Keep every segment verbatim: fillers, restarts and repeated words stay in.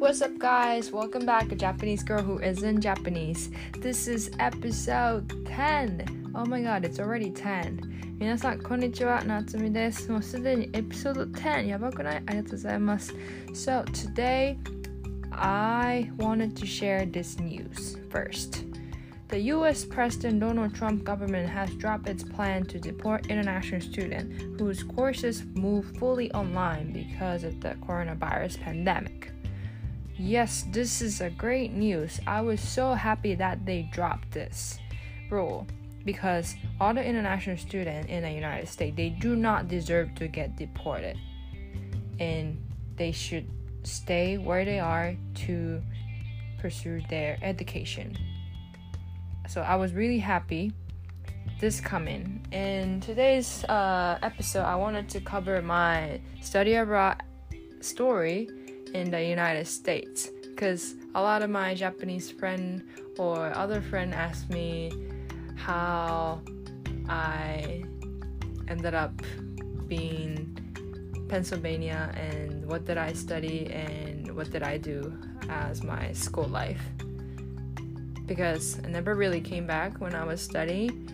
what's up guys? Welcome back, a Japanese girl who isn't Japanese. This is episode ten. Oh my god, it's already ten. 皆さんこんにちは、なつみです。もうすでにエピソードten。やばくない？ありがとうございます。So today, I wanted to share this news first. The U S President Donald Trump government has dropped its plan to deport international students whose courses move fully online because of the coronavirus pandemic. Yes, this is a great news. I was so happy that they dropped this rule because all the international students in the United States, they do not deserve to get deported. And they should stay where they are to pursue their education.So I was really happy this coming. In today's uh, episode, I wanted to cover my study abroad story in the United States because a lot of my Japanese friend or other friend asked me how I ended up being Pennsylvania and what did I study and what did I do as my school life.Because I never really came back when I was studying,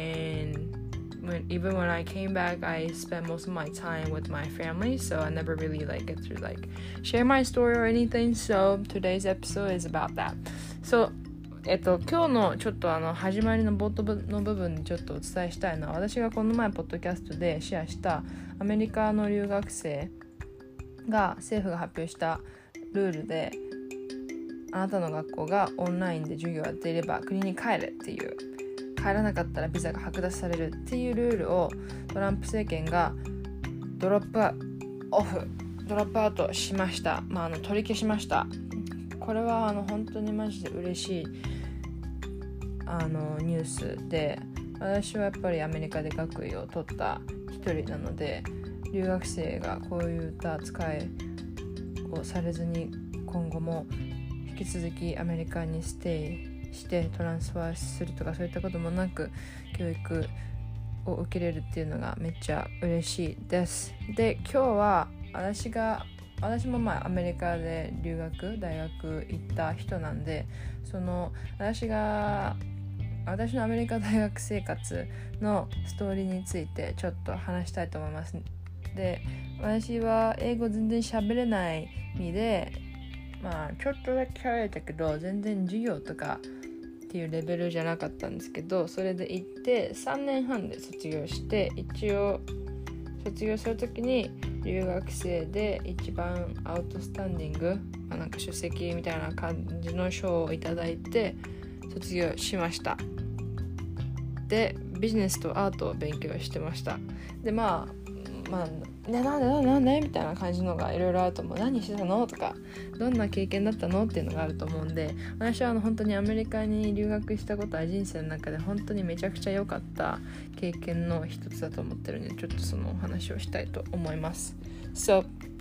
and when, even when I came back, I spent most of my time with my family, so I never really like get to like share my story or anything. So today's episode is about that. So えっと今日のちょっとあの始まりの冒頭の部分にちょっとお伝えしたいのは、私がこの前ポッドキャストでシェアしたアメリカの留学生が政府が発表したルールで。あなたの学校がオンラインで授業をやっていれば国に帰れっていう帰らなかったらビザが剥奪されるっていうルールをトランプ政権がドロップオフドロップアウトしました、まあ、あの取り消しました。これはあの本当にマジで嬉しいあのニュースで、私はやっぱりアメリカで学位を取った一人なので、留学生がこういった扱いをされずに今後も引き続きアメリカにステイしてトランスファーするとかそういったこともなく教育を受けれるっていうのがめっちゃ嬉しいです。で、今日は私が私もまあアメリカで留学大学行った人なんで、その私が私のアメリカ大学生活のストーリーについてちょっと話したいと思います。で、私は英語全然喋れない身でまあちょっとだけ喋れたけど全然授業とかっていうレベルじゃなかったんですけど、それで行ってさんねんはんで卒業して、一応卒業するときに留学生で一番アウトスタンディング、まあ、なんか出席みたいな感じの賞をいただいて卒業しました。でビジネスとアートを勉強してました。でまあまあね、なんでなんでなんでみたいな感じのがいろいろあると思う。何してたのとかどんな経験だったのっていうのがあると思うんで、私はあの本当にアメリカに留学したことは人生の中で本当にめちゃくちゃ良かった経験の一つだと思ってるんで、ちょっとそのお話をしたいと思います。So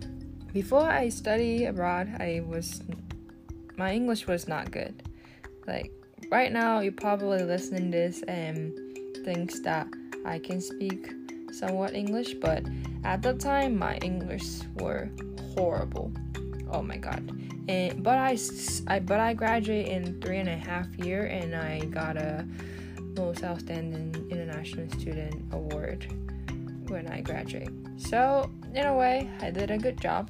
before I study abroad, I was my English was not good. Like right now, you probably listening to this and thinks that I can speak.somewhat English, but at the time my English were horrible. Oh my god. And but I, I but I graduated in three and a half year and I got a most outstanding international student award when I graduated. So in a way I did a good job,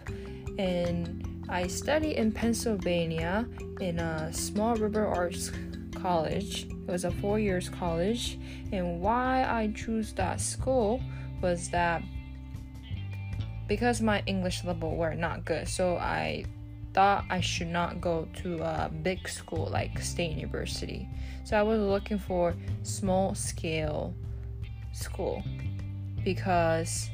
and I studied in Pennsylvania in a small liberal arts college. It was a four years college, and why I chose that school was that because my English level were not good, so I thought I should not go to a big school like State University. So I was looking for small scale school because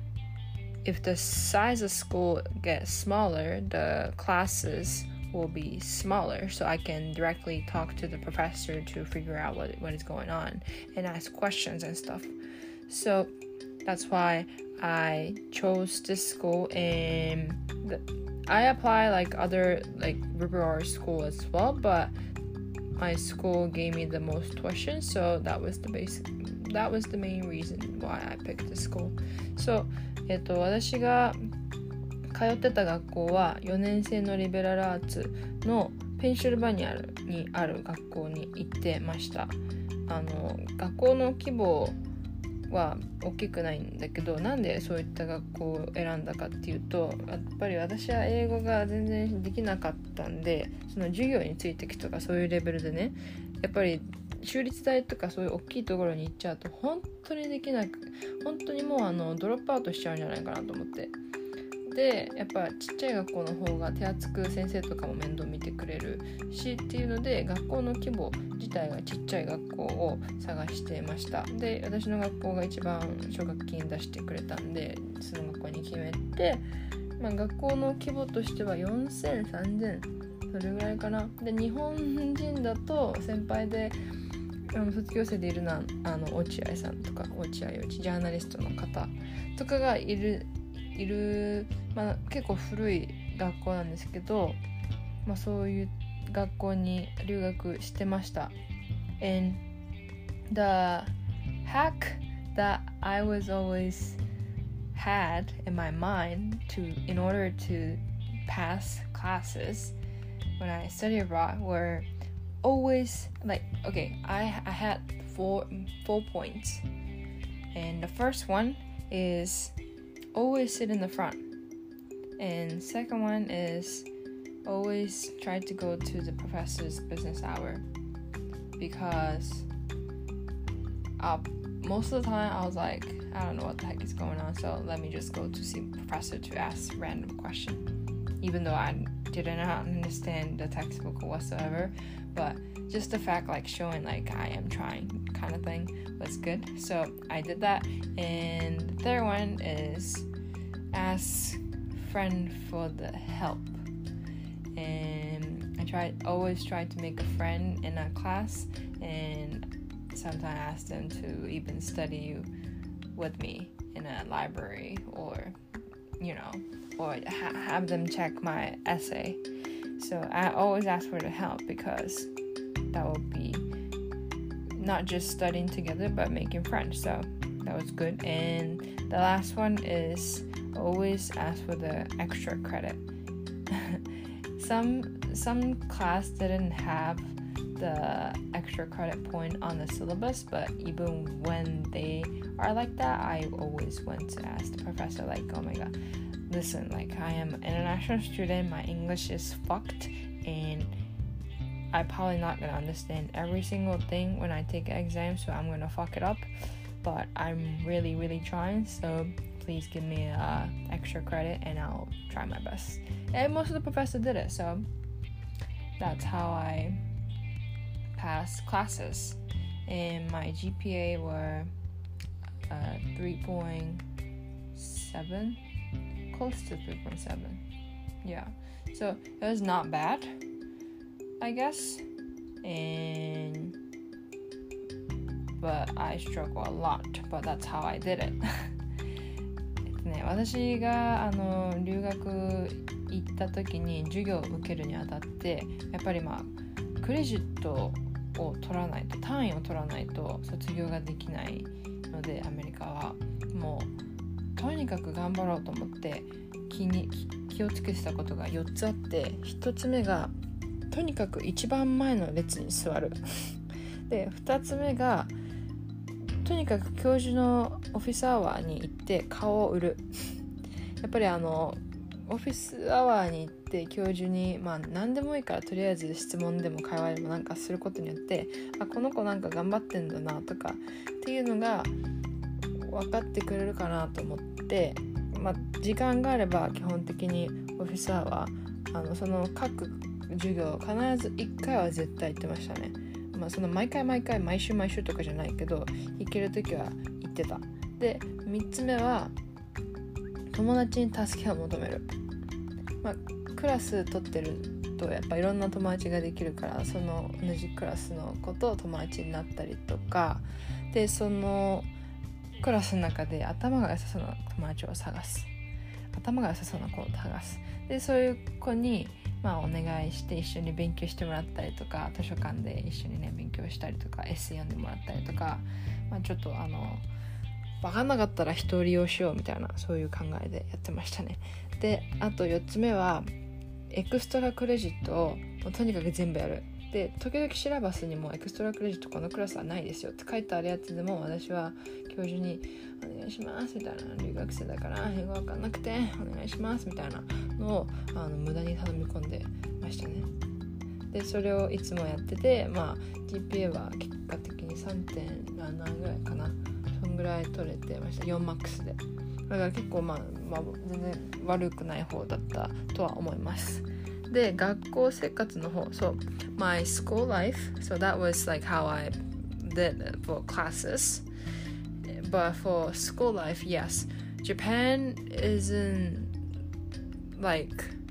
if the size of school gets smaller, the classes will be smaller, so I can directly talk to the professor to figure out what, what is going on and ask questions and stuff. So that's why I chose this school, and the, I apply like other like liberal arts school as well, but my school gave me the most tuition, so that was the basic that was the main reason why I picked this school. So えっと私が通ってた学校はよねん生のリベラルアーツのペンシルバニアにある学校に行ってました。あの学校の規模は大きくないんだけど、なんでそういった学校を選んだかっていうと、やっぱり私は英語が全然できなかったんで、その授業についてきとかそういうレベルでね、やっぱり州立大とかそういう大きいところに行っちゃうと本当にできなく、本当にもうあのドロップアウトしちゃうんじゃないかなと思って、でやっぱちっちゃい学校の方が手厚く先生とかも面倒見てくれるしっていうので、学校の規模自体がちっちゃい学校を探してました。で私の学校が一番奨学金出してくれたんで、その学校に決めて、まあ、学校の規模としてはよんせん、さんぜんそれぐらいかな。で日本人だと先輩であの卒業生でいるのはあの落合さんとか、落合陽一ジャーナリストの方とかがいるいる、まあ、結構古い学校なんですけど、まあ、そういう学校に留学してました。 And the hack that I was always had in my mind to in order to pass classes when I studied abroad were always like, okay, I, I had four, four points, and the first one is always sit in the front, and second one is always try to go to the professor's business hour, because uh, most of the time I was like, I don't know what the heck is going on, so let me just go to see the professor to ask random question, even though I didn't understand the textbook whatsoever. But just the fact like showing like I am trying kind of thing was good, so I did that. And the third one is ask friend for the help, and I tried always try to make a friend in a class, and sometimes ask them to even study with me in a library, or you know, or ha- have them check my essay. So I always ask for the help, because that would be not just studying together but making friends. So that was good. And the last one is always ask for the extra credit. some some class didn't have the extra credit point on the syllabus, but even when they are like that, I always went to ask the professor like, oh my god, listen, like I am an international student, my English is fucked, and I'm probably not gonna understand every single thing when I take an exam, so I'm gonna fuck it up, but I'm really really trying, so please give me uh, extra credit and I'll try my best. And most of the professors did it, so that's how I passed classes. And my G P A were uh, three point seven, close to three point seven. Yeah, so it was not bad, I guess. And but I struggle a lot, but that's how I did it. ね、私があの留学行った時に授業を受けるにあたって、やっぱりまあクレジットを取らないと、単位を取らないと卒業ができないので、アメリカはもうとにかく頑張ろうと思って気に気をつけてたことがよっつあって、ひとつめがとにかく一番前の列に座るで、ふたつめがとにかく教授のオフィスアワーに行って顔を売るやっぱりあのオフィスアワーに行って教授にまあ何でもいいからとりあえず質問でも会話でもなんかすることによって、あ、この子なんか頑張ってんだなとかっていうのが分かってくれるかなと思って、まあ時間があれば基本的にオフィスアワー、あのその各授業必ずいっかいは絶対行ってましたね。まあ、その毎回毎回毎週毎週とかじゃないけど行けるときは行ってた。でみっつめは友達に助けを求める、まあ、クラス取ってるとやっぱいろんな友達ができるから、その同じクラスの子と友達になったりとかで、そのクラスの中で頭が良さそうな友達を探す、頭が良さそうな子を探す。でそういう子にまあお願いして一緒に勉強してもらったりとか、図書館で一緒にね勉強したりとか、エッセイ読んでもらったりとか、まあ、ちょっとあの分かんなかったら一人利用しようみたいな、そういう考えでやってましたね。であとよっつめはエクストラクレジットをもうとにかく全部やる。で時々シラバスにもエクストラクレジットこのクラスはないですよって書いてあるやつでも、私は教授にお願いしますみたいな、留学生だから英語わかんなくてお願いしますみたいなのをあの無駄に頼み込んでましたね。でそれをいつもやってて、まあ ジーピーエー は結果的に さんてんなな ぐらいかな、そんぐらい取れてました。よんマックスで。だから結構まあ、まあ、全然悪くない方だったとは思います。で学校生活の方、so my school life, so that was like how I did for classes, but for school life, yes, Japan isn't like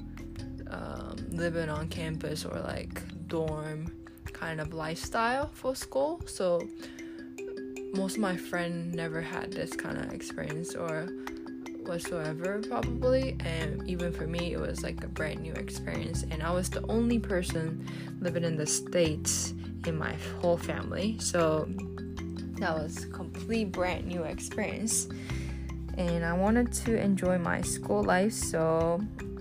um, living on campus or like dorm kind of lifestyle for school, so most of my friends never had this kind of experience or whatsoever probably, and even for me it was like a brand new experience, and I was the only person living in the States in my whole family, so that was a complete brand new experience, and I wanted to enjoy my school life, so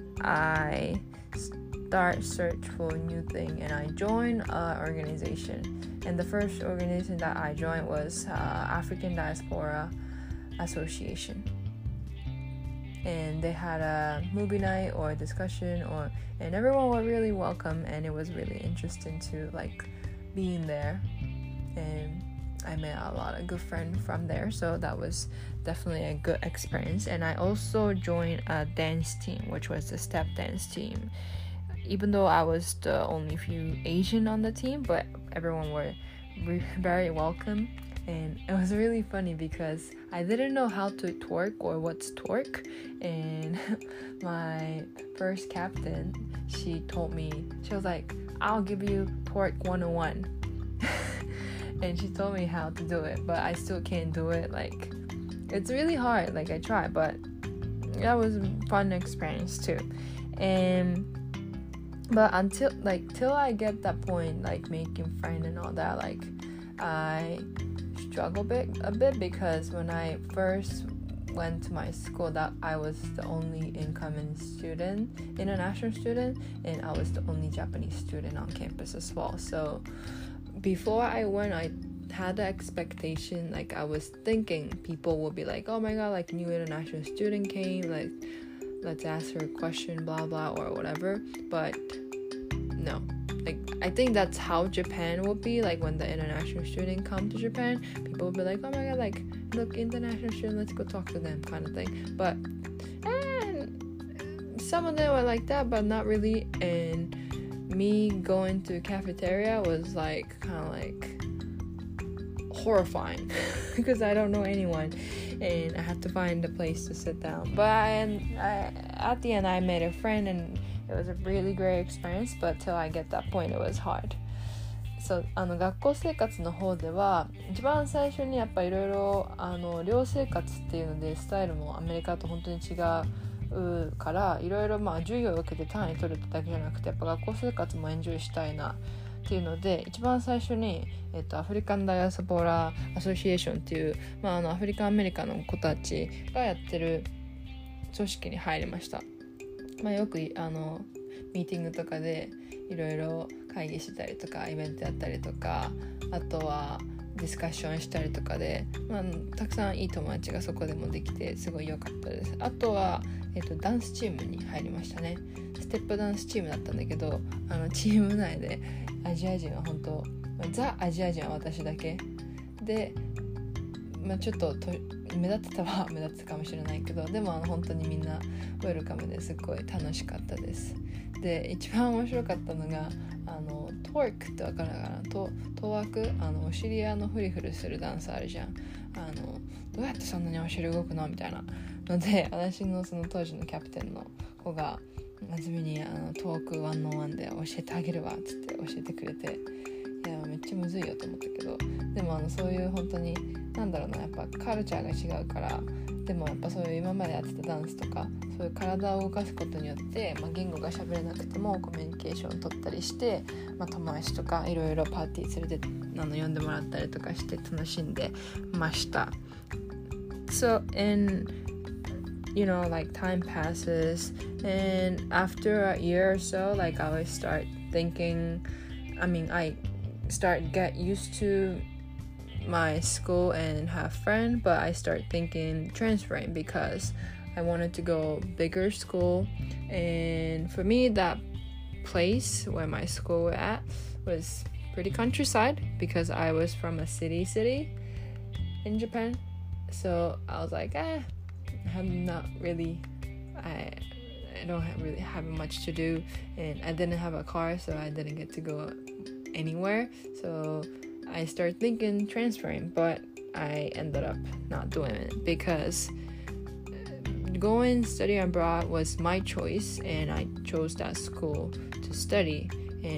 I start search for a new thing, and I joined an organization, and the first organization that I joined was uh, African Diaspora Association, and they had a movie night or a discussion, or and everyone was really welcome, and it was really interesting to like being there, and I met a lot of good friends from there, so that was definitely a good experience. And I also joined a dance team, which was the step dance team, even though I was the only few Asian on the team, but everyone were re- very welcome. And it was really funny because I didn't know how to twerk or what's twerk, and my first captain, she told me, she was like, I'll give you twerk one oh one and she told me how to do it, but I still can't do it. Like, it's really hard. Like, I tried, but that was a fun experience too. And but until like till I get that point, like making friends and all that, like I struggle a bit a bit because when I first went to my school, that I was the only incoming student, international student, and I was the only Japanese student on campus as well. So before I went, I had the expectation, like I was thinking people will be like, oh my god, like new international student came, like let's ask her a question, blah blah or whatever. But no, like I think that's how Japan will be, like when the international student come to Japan, people will be like, oh my god, like look, international student, let's go talk to them kind of thing. But and some of them were like that, but not really. And me going to cafeteria was like kind of like horrifying because I don't know anyone, and I had to find a place to sit down. But I, and I, at the end I made a friend, and it was a really great experience, but till I get that point it was hard. So あの学校生活の方では一番最初にやっぱいろいろあの寮生活っていうのでスタイルもアメリカと本当に違うからいろいろまあ授業を受けて単位取るだけじゃなくてやっぱ学校生活もエンジョイしたいなっていうので一番最初に、えっと、アフリカンダイアスポーラーアソシエーションっていう、まあ、あのアフリカンアメリカの子たちがやってる組織に入りました。まあ、よくあのミーティングとかでいろいろ会議したりとかイベントやったりとかあとはディスカッションしたりとかで、まあ、たくさんいい友達がそこでもできてすごい良かったです。あとは、えっと、ダンスチームに入りましたね。ステップダンスチームだったんだけどあのチーム内でアジア人は本当、まあ、ザ・アジア人は私だけで、まあ、ちょっとと目立ってたは目立ってたかもしれないけどでもあの本当にみんなウェルカムですごい楽しかったです。で一番面白かったのがあのトークってわかるかな、トトワーク、あのお尻あのフリフリするダンスあるじゃん。あのどうやってそんなにお尻動くのみたいなので私のその当時のキャプテンの子が真面目にあのトークワンオンワンで教えてあげるわっつって教えてくれて、いやめっちゃむずいよと思ったけどでもあのそういう本当になんだろうなやっぱカルチャーが違うからでもやっぱそういう今までやってたダンスとかそういう体を動かすことによって、まあ、言語が喋れなくてもコミュニケーションを取ったりして、まあ、友達とかいろいろパーティー連れてあの呼んでもらったりとかして楽しんでました。 So and you know like time passes, and after a year or so, like I always start thinking, I mean I start get used to my school and have friends, but I start thinking transferring because I wanted to go bigger school. And for me, that place where my school was at was pretty countryside because I was from a city city in Japan. So I was like, eh, I'm not really, I I don't have really have much to do, and I didn't have a car, so I didn't get to go anywhere. So I started thinking transferring, but I ended up not doing it because going study abroad was my choice, and I chose that school to study.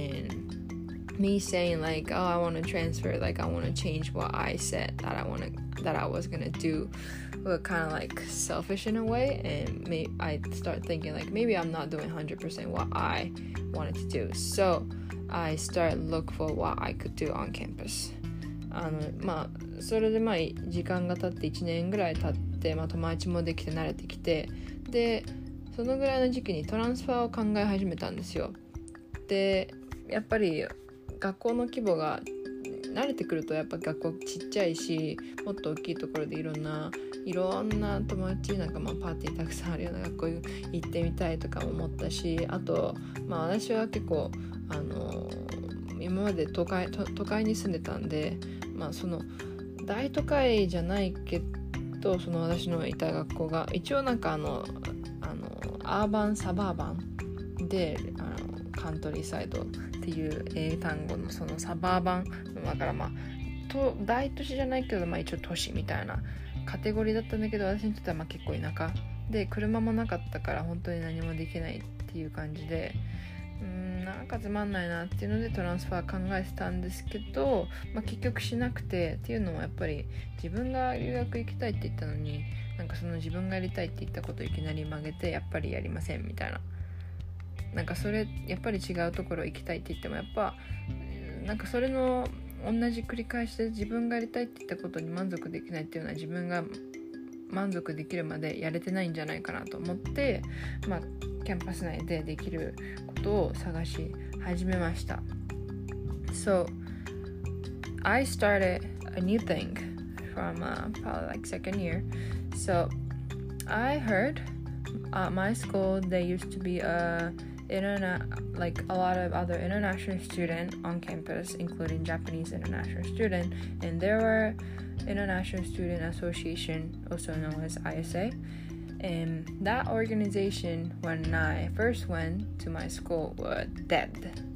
And me saying like, oh, I want to transfer, like I want to change what I said that I want to that I was gonna do, were kind of like selfish in a way. And may I start thinking like maybe I'm not doing one hundred percent what I wanted to do. So I started look for what I could do on campus. あのまあそれでまあ時間が経っていちねんぐらい経って、まあ、友達もできて慣れてきて、でそのぐらいの時期にトランスファーを考え始めたんですよ。でやっぱり学校の規模が慣れてくるとやっぱ学校ちっちゃいし、もっと大きいところでいろんないろんな友達なんかまあパーティーたくさんあるような学校行ってみたいとかも思ったし、あとまあ私は結構あの今まで都会、都、都会に住んでたんで、まあその大都会じゃないけど、その私のいた学校が一応なんかあのあのアーバンサバーバンであのカントリーサイドっていう英単語のそのサバーバンだから、まあと大都市じゃないけど、まあ一応都市みたいなカテゴリーだったんだけど、私にとってはまあ結構田舎で車もなかったから本当に何もできないっていう感じで、うーんなんかつまんないなっていうのでトランスファー考えてたんですけど、まあ、結局しなくて、っていうのもやっぱり自分が留学行きたいって言ったのに、なんかその自分がやりたいって言ったことをいきなり曲げてやっぱりやりませんみたいな、なんかそれやっぱり違うところ行きたいって言ってもやっぱなんかそれの同じ繰り返しで自分がやりたいって言ったことに満足できないっていうのは自分が満足できるまでやれてないんじゃないかなと思って、まあキャンパス内でできることを探し始めました。So I started a new thing from uh, probably like second year. So I heard at my school there used to be a internet like a lot of other international students on campus, including Japanese international student, and there were International Student Association, also known as I S A, and that organization when I first went to my school was dead.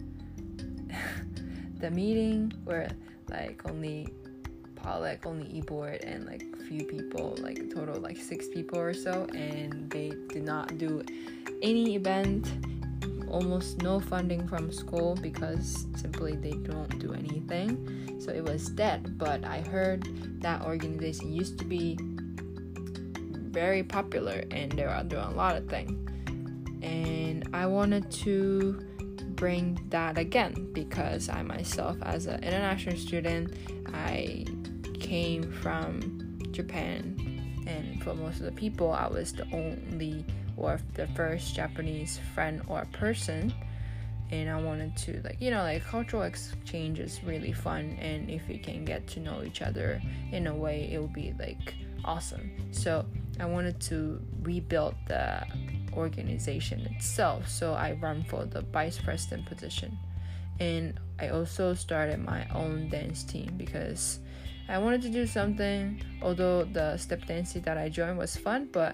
The meeting were like only like only e-board and like few people, like total like six people or so, and they did not do any event, almost no funding from school because simply they don't do anything. So it was dead. But I heard that organization used to be very popular and they are doing a lot of things, and I wanted to bring that again because I myself, as an international student, I came from Japan, and for most of the people I was the only or the first Japanese friend or person, and I wanted to, like, you know, like cultural exchange is really fun, and if we can get to know each other in a way, it would be like awesome. So I wanted to rebuild the organization itself, so I ran for the vice president position, and I also started my own dance team because I wanted to do something. Although the step dancing that I joined was fun, but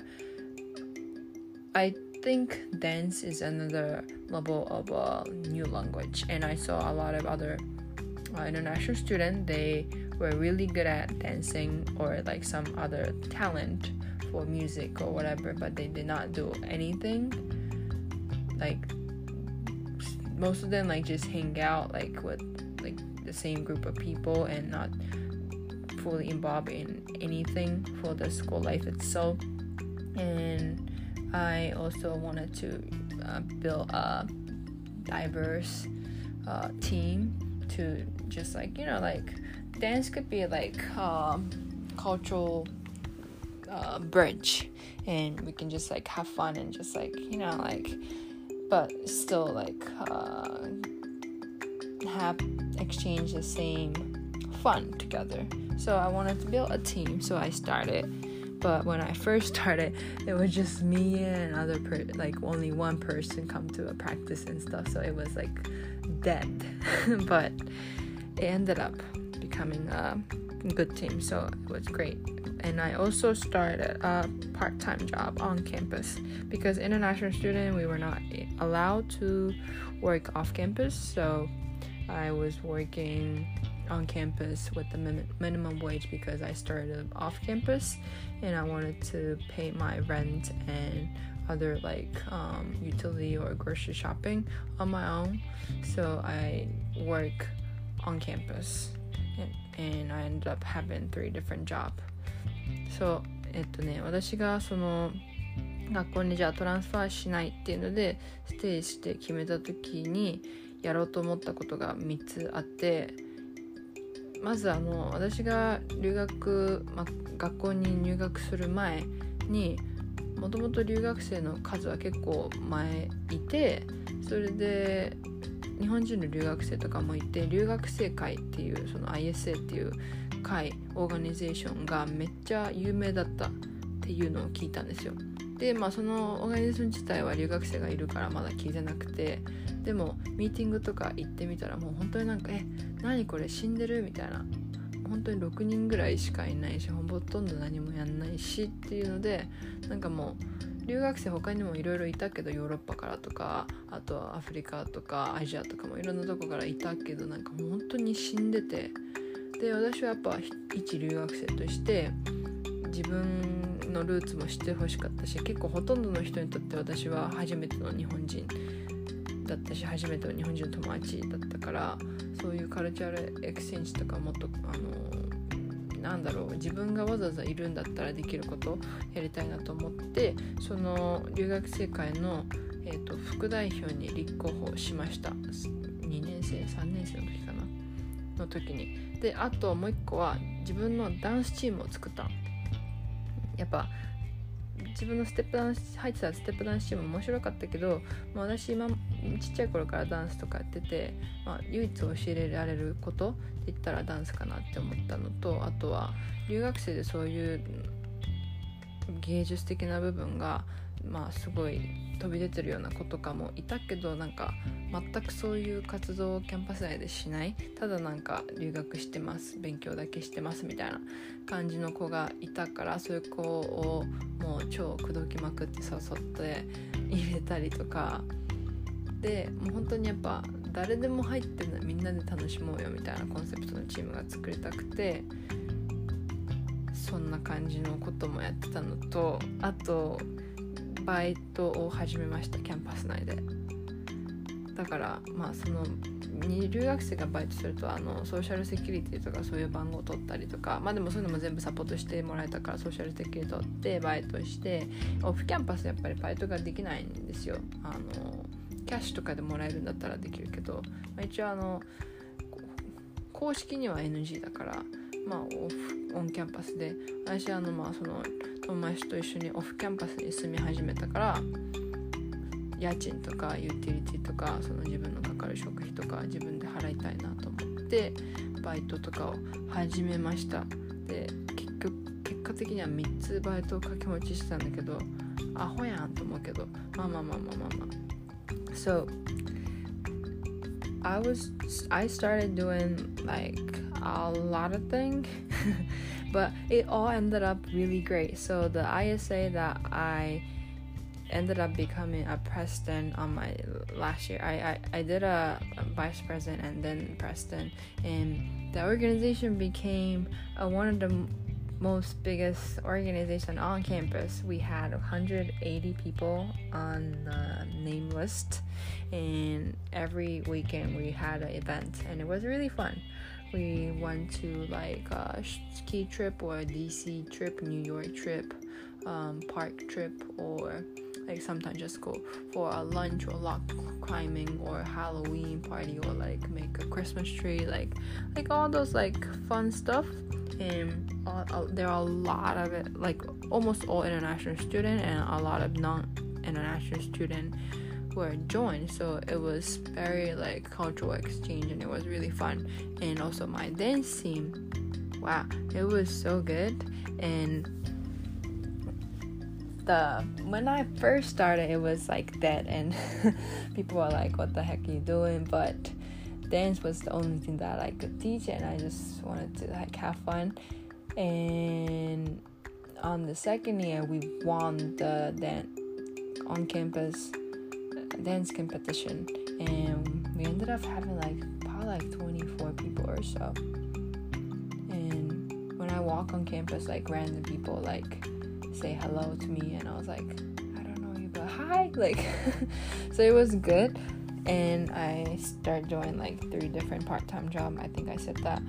I think dance is another level of a new language, and I saw a lot of other uh, international students. They were really good at dancing or like some other talent for music or whatever, but they did not do anything. Like most of them like just hang out like with like the same group of people and not fully involved in anything for the school life itself. And I also wanted to uh, build a diverse uh, team to just like, you know, like dance could be like um, cultural uh, bridge, and we can just like have fun and just like, you know, like, but still like uh, have exchange the same fun together. So I wanted to build a team, so I started. But when I first started, it was just me and another per- like only one person come to a practice and stuff, so it was like dead. But it ended up becoming a good team, so it was great. And I also started a part-time job on campus because international student, we were not allowed to work off campus, so I was working on campus with the min- minimum wage because I started off campus and I wanted to pay my rent and other like um, utility or grocery shopping on my own. So I work on campus and, and I ended up having three different jobs. So えっとね、私がその学校にじゃあトランスファーしないっていうのでステイして決めた時にやろうと思ったことがみっつあって、まずあの私が留学、まあ、学校に入学する前にもともと留学生の数は結構前いて、それで日本人の留学生とかもいて、留学生会っていうその アイエスエー っていう会オーガニゼーションがめっちゃ有名だったっていうのを聞いたんですよ。でまあそのオーガニゼーション自体は留学生がいるからまだ聞いてなくて、でもミーティングとか行ってみたらもう本当になんかえ何これ死んでるみたいな、本当にろくにんぐらいしかいないしほとんど何もやんないしっていうので、なんかもう留学生他にもいろいろいたけどヨーロッパからとかあとはアフリカとかアジアとかもいろんなとこからいたけどなんかもう本当に死んでて、で私はやっぱ一留学生として自分のルーツも知ってほしかったし、結構ほとんどの人にとって私は初めての日本人だったし初めての日本人の友達だったから、そういうカルチャーエクスチェンジとかもっとあのなんだろう自分がわざわざいるんだったらできることをやりたいなと思って、その留学生会の、えーと、副代表に立候補しました。にねん生さんねん生の時かなの時に。であともう一個は自分のダンスチームを作った。やっぱ自分のステップダンス入ってたステップダンスチーム面白かったけど、まあ、私今ちっちゃい頃からダンスとかやってて、まあ、唯一教えられることって言ったらダンスかなって思ったのと、あとは留学生でそういう芸術的な部分がまあすごい飛び出てるような子とかもいたけど、なんか全くそういう活動をキャンパス内でしない、ただなんか留学してます勉強だけしてますみたいな感じの子がいたから、そういう子をもう超口説きまくって誘って入れたりとかで、もう本当にやっぱ誰でも入ってるのみんなで楽しもうよみたいなコンセプトのチームが作りたくて、そんな感じのこともやってたのと、あとバイトを始めましたキャンパス内で。だからまあその留学生がバイトするとあのソーシャルセキュリティとかそういう番号を取ったりとか、まあでもそういうのも全部サポートしてもらえたからソーシャルセキュリティ取ってバイトして、オフキャンパスやっぱりバイトができないんですよ。あのキャッシュとかでもらえるんだったらできるけど、まあ、一応あの公式には エヌジー だからまあオフオンキャンパスで、私あのまあその友達と一緒にオフキャンパスに住み始めたから家賃とかユーティリティとかその自分のかかる食費とか自分で払いたいなと思ってバイトとかを始めました。で結局結果的にはみっつバイトを掛け持ちしてたんだけどアホやんと思うけど、まあまあまあまあまあまあ So I was I started doing like a lot of things but it all ended up really great. So the I S A that I ended up becoming a president on my last year. I, I, I did a, a vice president and then president, and the organization became uh, one of the m- most biggest organization on campus. We had one hundred eighty people on the name list, and every weekend we had an event, and it was really fun. We went to like a ski trip or a D C trip, New York trip, um, park trip, or like sometimes just go for a lunch or rock climbing or Halloween party or like make a Christmas tree, like like all those like fun stuff. And uh, uh, there are a lot of it, like almost all international student and a lot of non-international student who are joined, so it was very like cultural exchange and it was really fun. And also my dance team, wow, it was so good. And the when I first started, it was like that, and people were like, what the heck are you doing? But dance was the only thing that I could teach, and I just wanted to like have fun. And on the second year, we won the dance on campus dance competition, and we ended up having like probably like twenty-four people or so. And when I walk on campus, like random people like say hello to me, and I was like, I don't know you, but hi, like so it was good. And I started doing like three different part-time jobs. I think I said that.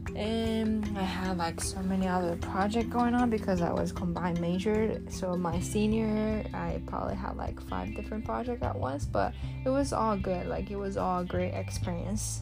And I had like so many other projects going on because I was combined majored. So my senior, I probably had like five different projects at once, but it was all good. Like it was all great experience.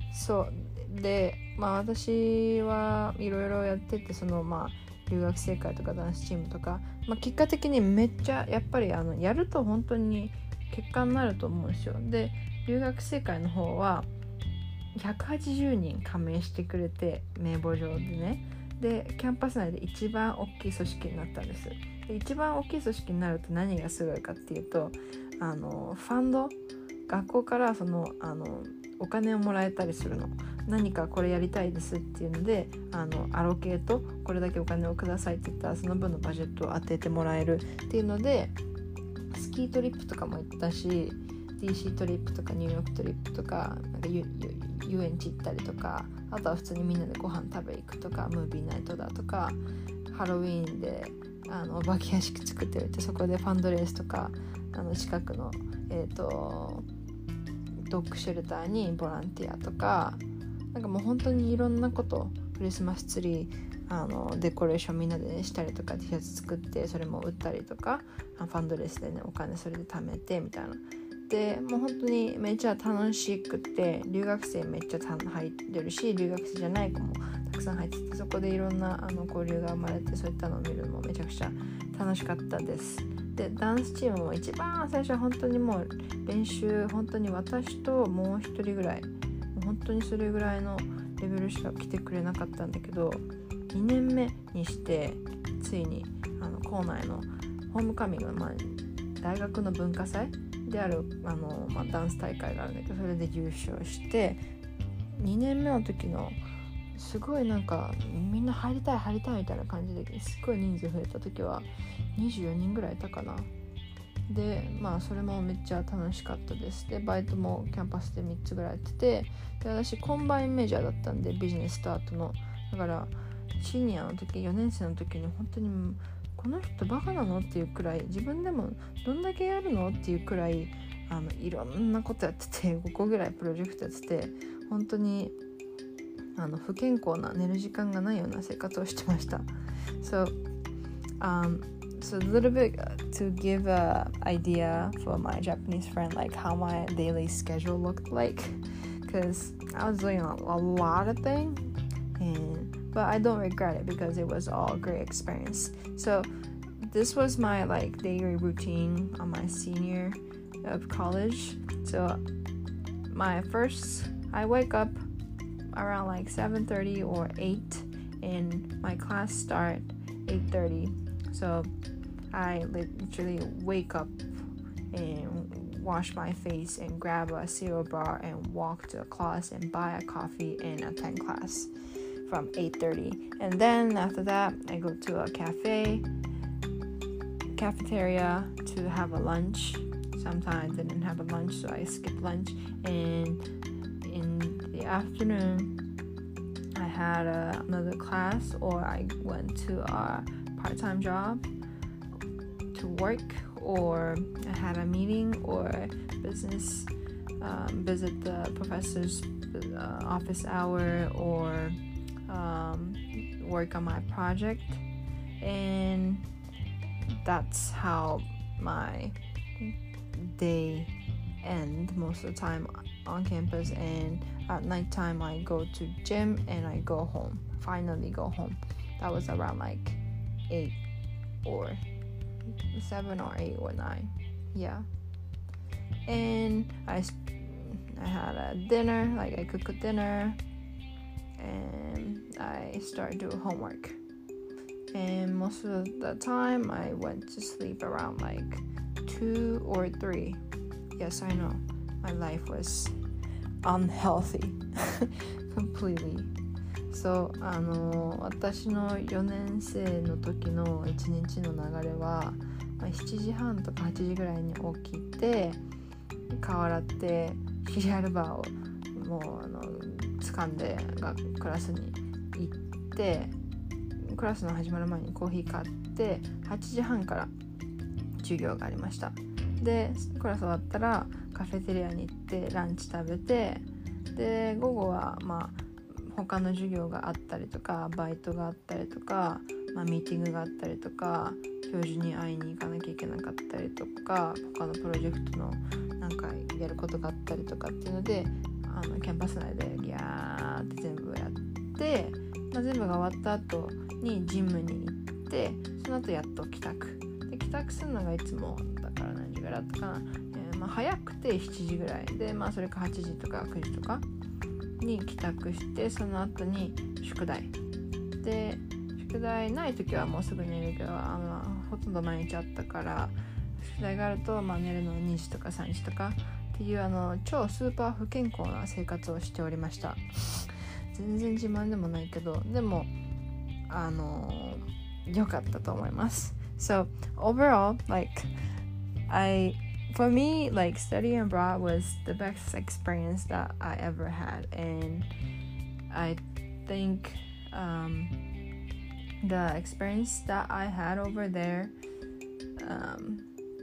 So で、まあ私はいろいろやってて、そのまあ留学生会とかダンスチームとか、まあ結果的にめっちゃやっぱりあのやると本当に結果になると思うんですよ。で、留学生会の方はひゃくはちじゅうにん加盟してくれて、名簿上でね。で、キャンパス内で一番大きい組織になったんです。で、一番大きい組織になると何がすごいかっていうと、あのファンド、学校からそのあのお金をもらえたりするの。何かこれやりたいですっていうので、あのアロケート、これだけお金をくださいって言ったらその分のバジェットを当ててもらえるっていうので、スキートリップとかも行ったし、ディーシー トリップとかニューヨークトリップとか、なんか遊園地行ったりとか、あとは普通にみんなでご飯食べ行くとか、ムービーナイトだとか、ハロウィーンであのお化け屋敷作っておいて、そこでファンドレースとか、あの近くの、えーと、ドッグシェルターにボランティアとか、なんかもう本当にいろんなこと、クリスマスツリーあのデコレーションみんなで、ね、したりとか、 T シャツ作ってそれも売ったりとか、ファンドレースでねお金それで貯めてみたいな。でもう本当にめっちゃ楽しくて、留学生めっちゃ入ってるし、留学生じゃない子もたくさん入ってて、そこでいろんなあの交流が生まれて、そういったのを見るのもめちゃくちゃ楽しかったです。でダンスチームも一番最初は本当にもう練習、本当に私ともう一人ぐらい、もう本当にそれぐらいのレベルしか来てくれなかったんだけど、にねんめにしてついにあの校内のホームカミングの、まあ、大学の文化祭であるあの、まあ、ダンス大会があるんだけど、それで優勝して、にねんめの時のすごいなんかみんな入りたい入りたいみたいな感じですごい人数増えた時はにじゅうよにんぐらいいたかな。でまあそれもめっちゃ楽しかったです。でバイトもキャンパスでみっつぐらいやってて、で私コンバインメジャーだったんで、ビジネススタートの、だからシニアの時、よねん生の時に本当にこの人バカなのっていうくらい、自分でもどんだけやるのっていうくらい、あのいろんなことやってて、ごこぐらいプロジェクトやってて、本当にあの不健康な、寝る時間がないような生活をしてました。So, um, so a little bit to give a idea for my Japanese friend, like how my daily schedule looked like, because I was doing a, a lot of things, and but I don't regret it because it was all a great experience. So this was my like daily routine on my senior of college. So my first, I wake up around like seven thirty or eight, and my class start eight thirty. So I literally wake up and wash my face and grab a cereal bar and walk to a class and buy a coffee and attend class from eight thirty. And then after that, I go to a cafe, cafeteria to have a lunch. Sometimes I didn't have a lunch, so I skipped lunch. And in the afternoon, I had uh, another class, or I went to a part-time job to work, or I had a meeting or business, um, visit the professor's uh, office hour, or um, work on my project. And that's how my day end most of the time on campus, and at night time I go to gym and I go home, finally go home. That was around like eight or seven or eight or nine, yeah. And I, I had a dinner, like I cooked a dinner, and I started doing homework. And most of the time I went to sleep around like two or three. Yes, I know, my life was unhealthy completely. そう、あの私のよねん生の時のいちにちの流れは、まあ、しちじはんとかはちじぐらいに起きて、顔洗ってシリアルバーをもうあの掴んでがクラスに行って、クラスの始まる前にコーヒー買ってはちじはんから授業がありました。でクラス終わったらカフェテリアに行ってランチ食べて、で午後はまあ他の授業があったりとかバイトがあったりとか、まあ、ミーティングがあったりとか教授に会いに行かなきゃいけなかったりとか他のプロジェクトのなんかやることがあったりとかっていうので、あのキャンパス内でギャーって全部やって、まあ、全部が終わった後にジムに行って、その後やっと帰宅で帰宅するのがいつもだから何時ぐらいだったかな、えーまあ、早くてしちじぐらいで、まあ、それかはちじとかくじとかに帰宅して、その後に宿題で、宿題ない時はもうすぐ寝るけど、あのほとんど毎日あったから、宿題があると、まあ、寝るのにじとかさんじとかっていうあの超スーパー不健康な生活をしておりました。全然自慢でもないけど、でもあの良かったと思います。So overall, like I for me, like studying abroad was the best experience that I ever had, and I think um, the experience that I had over there um,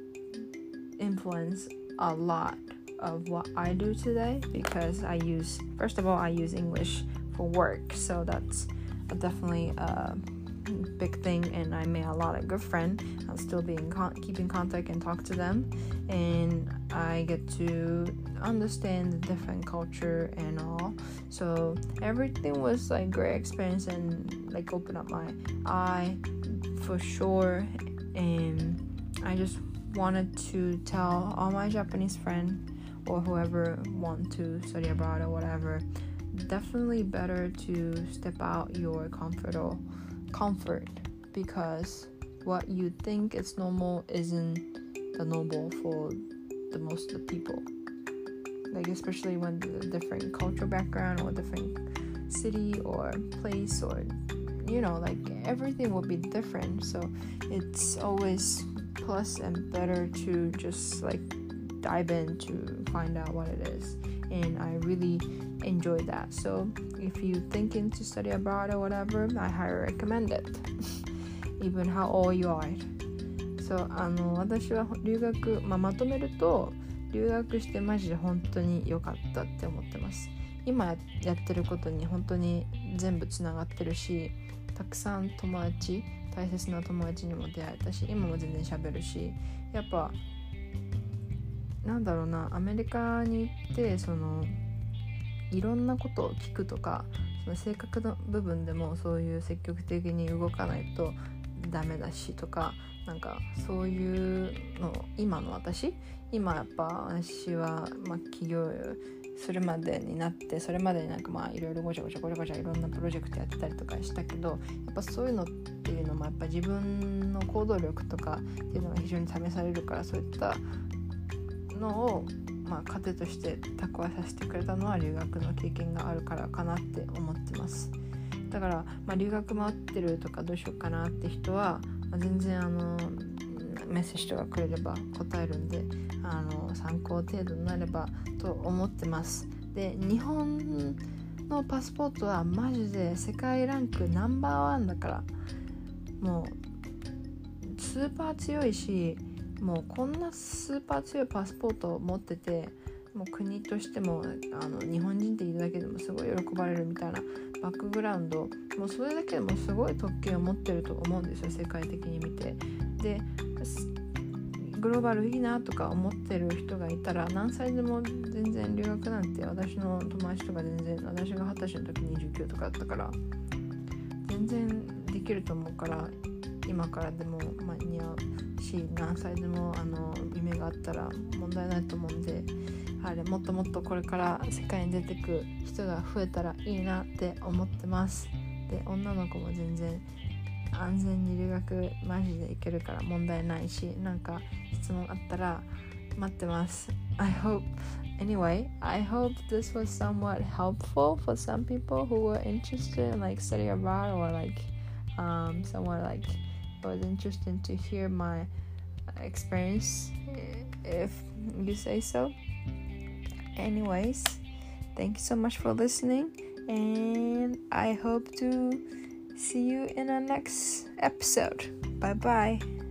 influenced a lot of what I do today, because I use, first of all, I use English for work, so that's definitely a big thing, and I made a lot of good friends. I'll still be in con- keep in contact and talk to them, and I get to understand the different culture and all. So everything was like great experience and like open up my eye for sure. And I just wanted to tell all my Japanese friends or whoever want to study abroad or whatever, definitely better to step out your comfort or comfort, because what you think is normal isn't the normal for the most of the people, like especially when the different cultural background or different city or place, or you know, like everything will be different. So it's always plus and better to just like dive in to find out what it is, and I really enjoyed that. So if you thinking to study abroad or whatever, I highly recommend it even how old you are. So あの私は留学、まあ、まとめると留学してマジで本当に良かったって思ってます。今やってることに本当に全部つながってるし、たくさん友達、大切な友達にも出会えたし、今も全然喋るし、やっぱなんだろうな、アメリカに行ってそのいろんなことを聞くとか、その性格の部分でもそういう積極的に動かないとダメだしとか、なんかそういうの今の私今やっぱ私は、まあ、起業するまでになって、それまでになんかまあいろいろごちゃごちゃごちゃごちゃいろんなプロジェクトやってたりとかしたけど、やっぱそういうのっていうのもやっぱ自分の行動力とかっていうのが非常に試されるから、そういったのをまあ糧として蓄えさせてくれたのは留学の経験があるからかなって思ってます。だから、まあ、留学回ってるとかどうしようかなって人は、まあ、全然あのメッセージとかくれれば答えるんで、あの参考程度になればと思ってます。で、日本のパスポートはマジで世界ランクナンバーワンだから、もうスーパー強いし、もうこんなスーパー強いパスポートを持ってて、もう国としてもあの日本人っているだけでもすごい喜ばれるみたいなバックグラウンド、もうそれだけでもすごい特権を持ってると思うんですよ、世界的に見て。でグローバルいいなとか思ってる人がいたら、何歳でも全然留学なんて、私の友達とか全然、私がはたちの時にじゅうきゅうとかだったから全然できると思うから、今からでも間に合うし、何歳でもあの夢があったら問題ないと思うんで、あれもっともっとこれから世界に出てく人が増えたらいいなって思ってます。で、女の子も全然安全に留学マジで行けるから問題ないし、なんか質問あったら待ってます。 I hope anyway I hope this was somewhat helpful for some people who were interested in like study abroad, or like um somewhat like it was interesting to hear my experience, if you say so. Anyways, thank you so much for listening, and I hope to see you in the next episode. Bye bye.